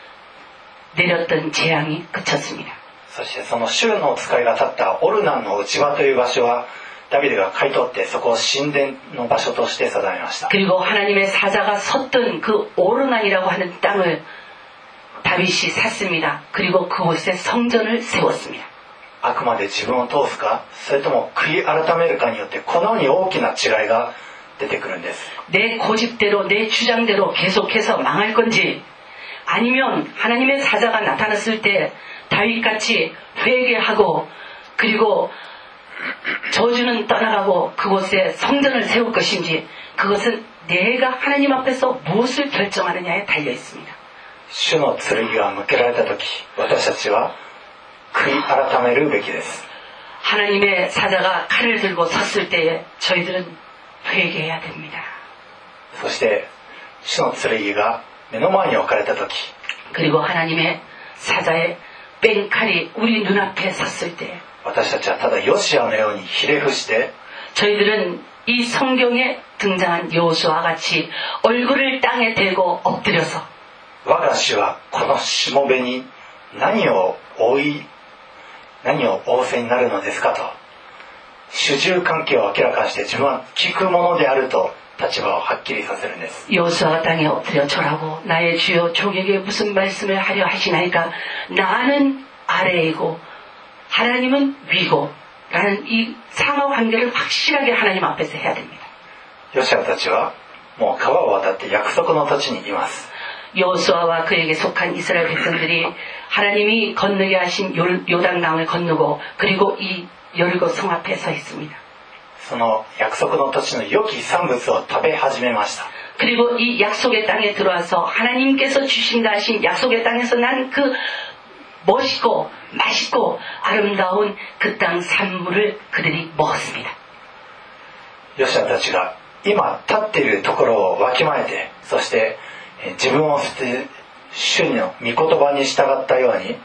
내렸던 재앙이 그쳤습니다. そしてその主の使いが立ったオルナンの内場という場所はダビデが買い取ってそこを神殿の場所として定めました。 그리고 하나님의 사자가 섰던 그 오르난이라고 하는 땅을 다윗이 샀습니다. 그리고 그곳에 성전을 세웠습니다. あくまで自分を通すかそれとも悔い改めるかによってこのように大きな違いが出てくるんです。 내 고집대로 내 주장대로 계속해서 망할 건지 아니면 하나님의 사자가 나타났을 때 다윗같이 회개하고 그리고 저주는 떠나가고 그곳에 성전을 세울 것인지 그것은 내가 하나님 앞에서 무엇을 결정하느냐에 달려 있습니다. 主の剣が向けられた時私たちは悔い改めるべきです。 하나님의 사자가 칼을 들고 섰을 때에 저희들은 회개해야 됩니다. そして主の剣が目の前に置かれた時 그리고 하나님의 사자의 뺀 칼이 우리 눈앞에 섰을 때 私たちはただヨシアのようにひれ伏して 저희들은 이 성경에 등장한 요수와 같이 얼굴을 땅에 대고 엎드려서 我が主はこのしもべに何を追い何を仰せになるのですかと主従関係を明らかにして自分は聞くものであると立場をはっきりさせるんです。 여호수아가 땅에 엎드려 절하고 나의 주여 종에게 무슨 말씀을 하려 하시나이까 나는 아래이고 하나님은 위고 라는 이 상하관계를 확실하게 하나님 앞에서 해야 됩니다. ヨシュアたちはもう川を渡って約束の土地にいます。 여호수아와 그에게 속한 이스라엘 백성들이 하나님이 건너게 하신 요단강을 건너고 그리고 이 여리고 성 앞에 서 있습니다. その約束の土地の良き産物を食べ始めました。 그리고 이 약속의 땅에 들어와서 하나님께서 주신다 하신 약속의 땅에서 난 그 멋있고 맛있고 아름다운 그 땅 산물을 그들이 먹었습니다. ヨシュアたちが今立っているところをわきまえて、そして自分を捨て主の御言葉に従ったように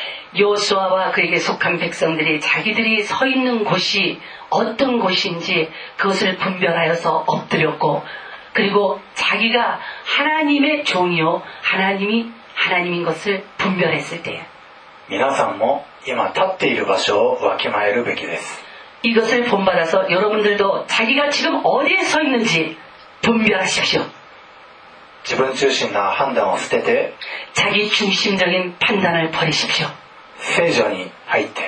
여호수아와 그에게 속한 백성들이 자기들이 서 있는 곳이 어떤 곳인지 그것을 분별하여서 엎드렸고 그리고 자기가 하나님의 종이요 하나님이 하나님인 것을 분별했을 때에 皆さんも今立っている場所をわきまえるべきです。 이것을 본받아서 여러분들도 자기가 지금 어디에 서 있는지 분별하십시오. 自分中心な判断を捨てて 자기 중심적인 판단을 버리십시오. 聖所に入って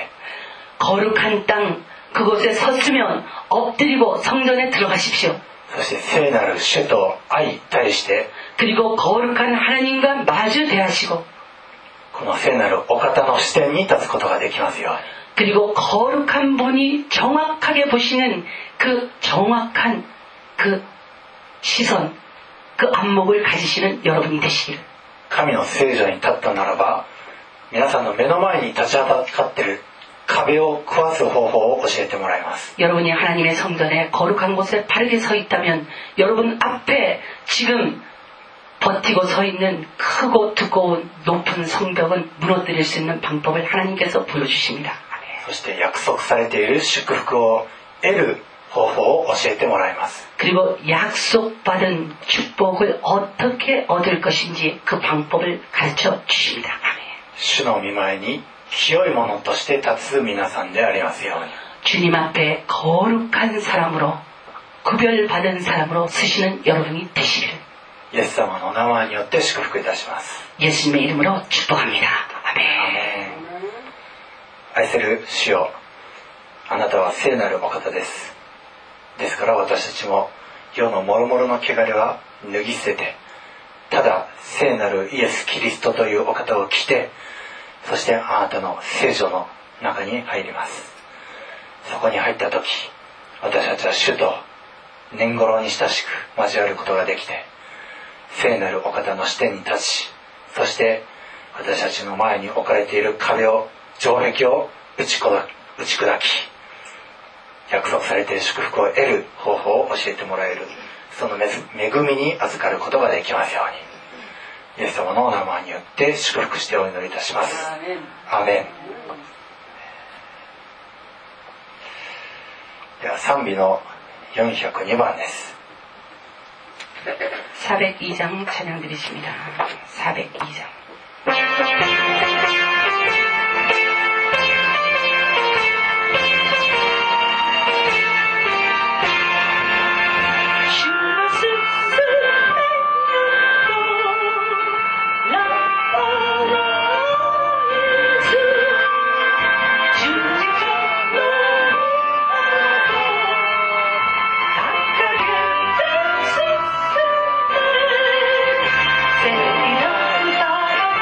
거룩한 땅 그곳에 섰으면 엎드리고 성전에 들어가십시오. そして聖なる主と相対して 그리고 거룩한 하나님과 마주 대하시고 この聖なるお方の視点に立つことができますように。 그리고 거룩한 분이 정확하게 보시는 그 정확한 그 시선 그 안목을 가지시는 여러분이 되시기를. 神の聖所に立ったならば皆さんの目の前に立ちはだかっている壁を壊す方法を教えてもらいます。 여러분이 하나님의 성전에 거룩한 곳에 바르게 서 있다면 여러분 앞에 지금 버티고 서 있는 크고 두꺼운 높은 성벽은 무너뜨릴 수 있는 방법을 하나님께서 보여주십니다. そして約束されている祝福を得る方法を教えてもらいます。 그리고 약속받은 축복을 어떻게 얻을 것인지 그 방법을 가르쳐 주십니다. 主の御前に清いものとして立つ皆さんでありますように。 주님 앞에 거룩한 사람으로 구별받은 사람으로 쓰시는 여러분이 되시기를 イエス様の名前によって祝福いたします。 예수님의 이름으로 축복합니다. 아멘. アメン。愛する主よ、あなたは聖なるお方です。ですから私たちも世の諸々の汚れは脱ぎ捨てて、ただ聖なるイエス・キリストというお方を着て、そしてあなたの聖所の中に入ります。そこに入った時、私たちは主と年頃に親しく交わることができて、聖なるお方の視点に立ち、そして私たちの前に置かれている壁を、城壁を打ち砕き、打ち砕き、約束されている祝福を得る方法を教えてもらえる、その恵みに預かることができますように、イエス様のお名前によって祝福してお祈りいたします。アーメン。では賛美のよんひゃくにばんです。 사백이 장 찬양 드리십니다. 사백이 장. Say,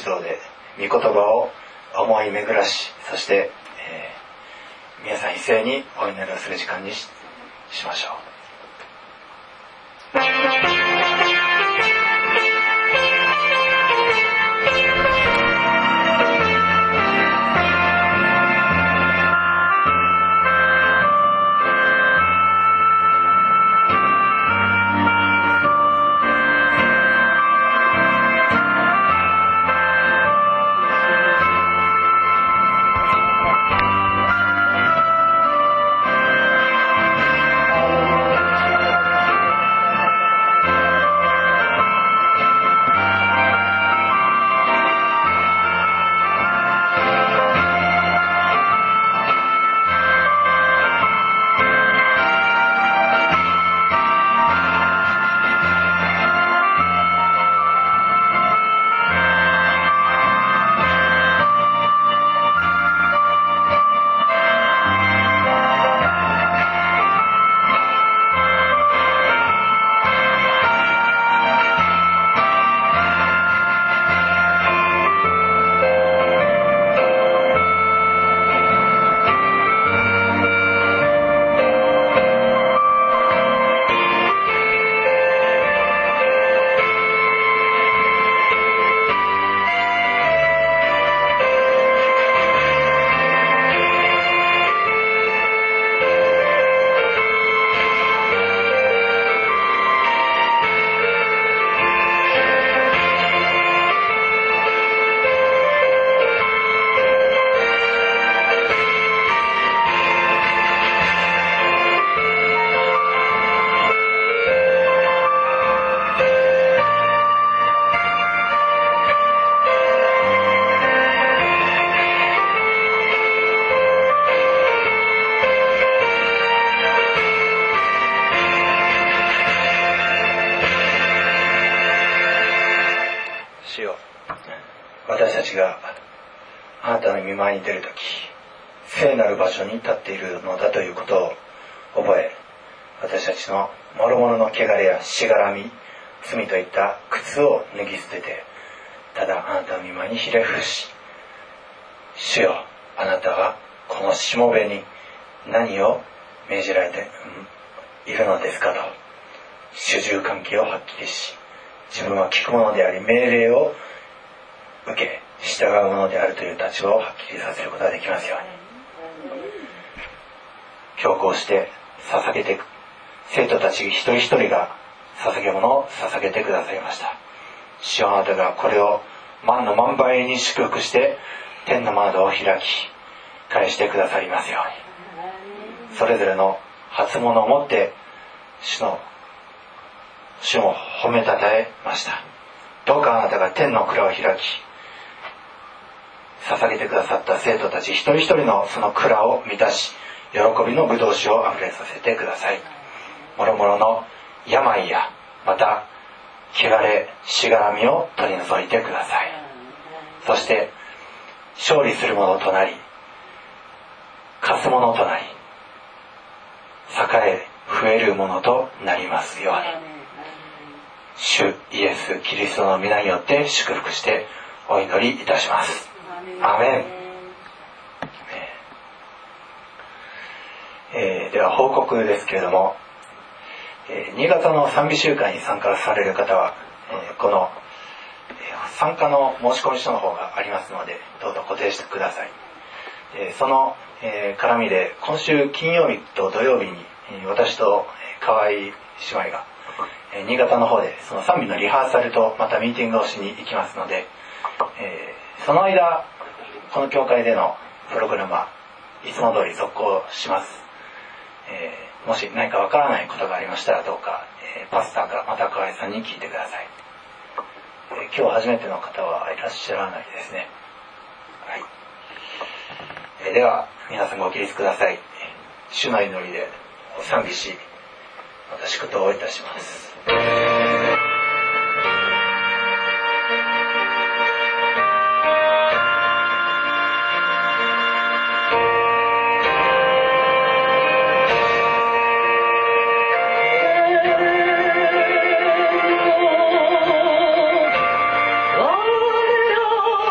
一同で御言葉を思い巡らし、そして、えー、皆さん一斉にお祈りをする時間に し, しましょう。私たちがあなたの御前に出るとき、聖なる場所に立っているのだということを覚え、私たちの諸々の汚れやしがらみ、罪といった靴を脱ぎ捨てて、ただあなたの御前にひれ伏し、主よ、あなたはこのしもべに何を命じられているのですかと、主従関係をはっきりし、自分は聞くものであり命令を受け従うものであるという立場をはっきりさせることができますように。今日こうして捧げて生徒たち一人一人が捧げ物を捧げてくださいました。主よ、あなたがこれを万の万倍に祝福して天の窓を開き返してくださりますように。それぞれの初物を持って主の主を褒めたたえました。どうかあなたが天の蔵を開き、捧げてくださった生徒たち一人一人のその蔵を満たし、喜びの葡萄酒をあふれさせてください。もろもろの病やまた汚れしがらみを取り除いてください。そして勝利するものとなり、勝つものとなり、栄え増えるものとなりますように。主イエスキリストの皆によって祝福してお祈りいたします。アーメン。えー、では報告ですけれども、えー、新潟の賛美集会に参加される方は、えー、この、えー、参加の申し込み書の方がありますので、どうぞ固定してください。えー、その、えー、絡みで今週金曜日と土曜日に、えー、私と河合姉妹が新潟の方でその賛美のリハーサルとまたミーティングをしに行きますので、えー、その間この教会でのプログラムはいつも通り続行します。えー、もし何かわからないことがありましたらどうか、えー、パスターかまた河合さんに聞いてください。えー、今日初めての方はいらっしゃらないですね。はい。えー、では皆さんご起立ください。主の祈りで賛美し私ことをいたします。 Oh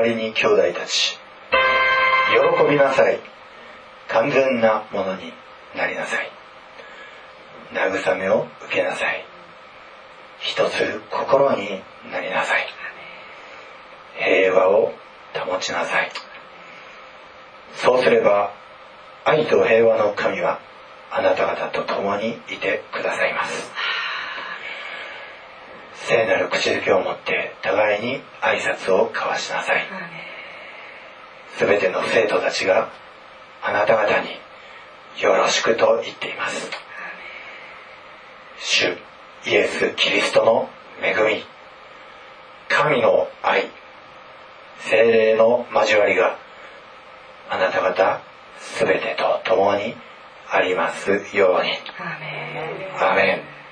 わりに兄弟たち、喜びなさい。完全なものになりなさい。慰めを受けなさい。一つ心になりなさい。平和を保ちなさい。そうすれば愛と平和の神はあなた方と共にいてくださいます。聖なる口づけを持って互いに挨拶を交わしなさい。すべての生徒たちがあなた方によろしくと言っています。主イエス・キリストの恵み、神の愛、聖霊の交わりがあなた方すべてと共にありますように。アーメン。アーメン。